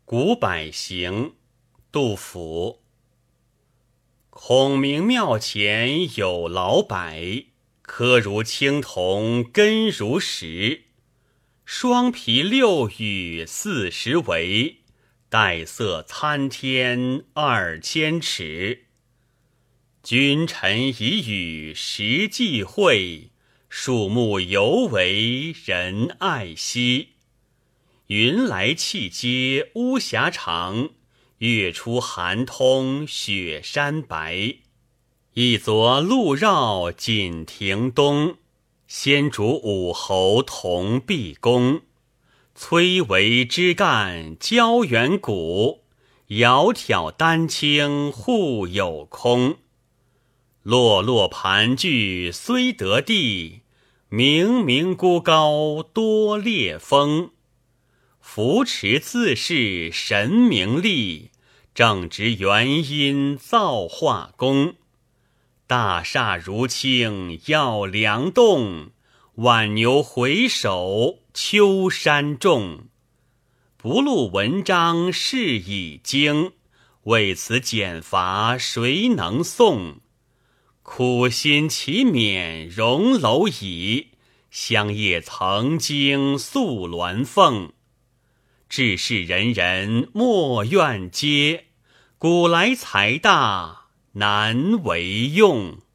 古柏行，杜甫。孔明庙前有老柏，柯如青铜，根如石。双皮六羽40围，带色参天2000尺。君臣以语实际会，树木犹为人爱惜。云来气接巫峡长，月出寒通雪山白。一昨路绕锦亭东，先主武侯同毕公。崔嵬枝干交远古，窈窕丹青互有空。落落盘踞虽得地，冥冥孤高多烈风。扶持自是神明力，正直元因造化功。大厦如倾要梁栋，挽牛回首秋山重。不录文章是已经，为此减罚谁能诵？苦心岂免荣蝼蚁，香叶曾经宿鸾凤。志士人人莫怨嗟，古来财大难为用。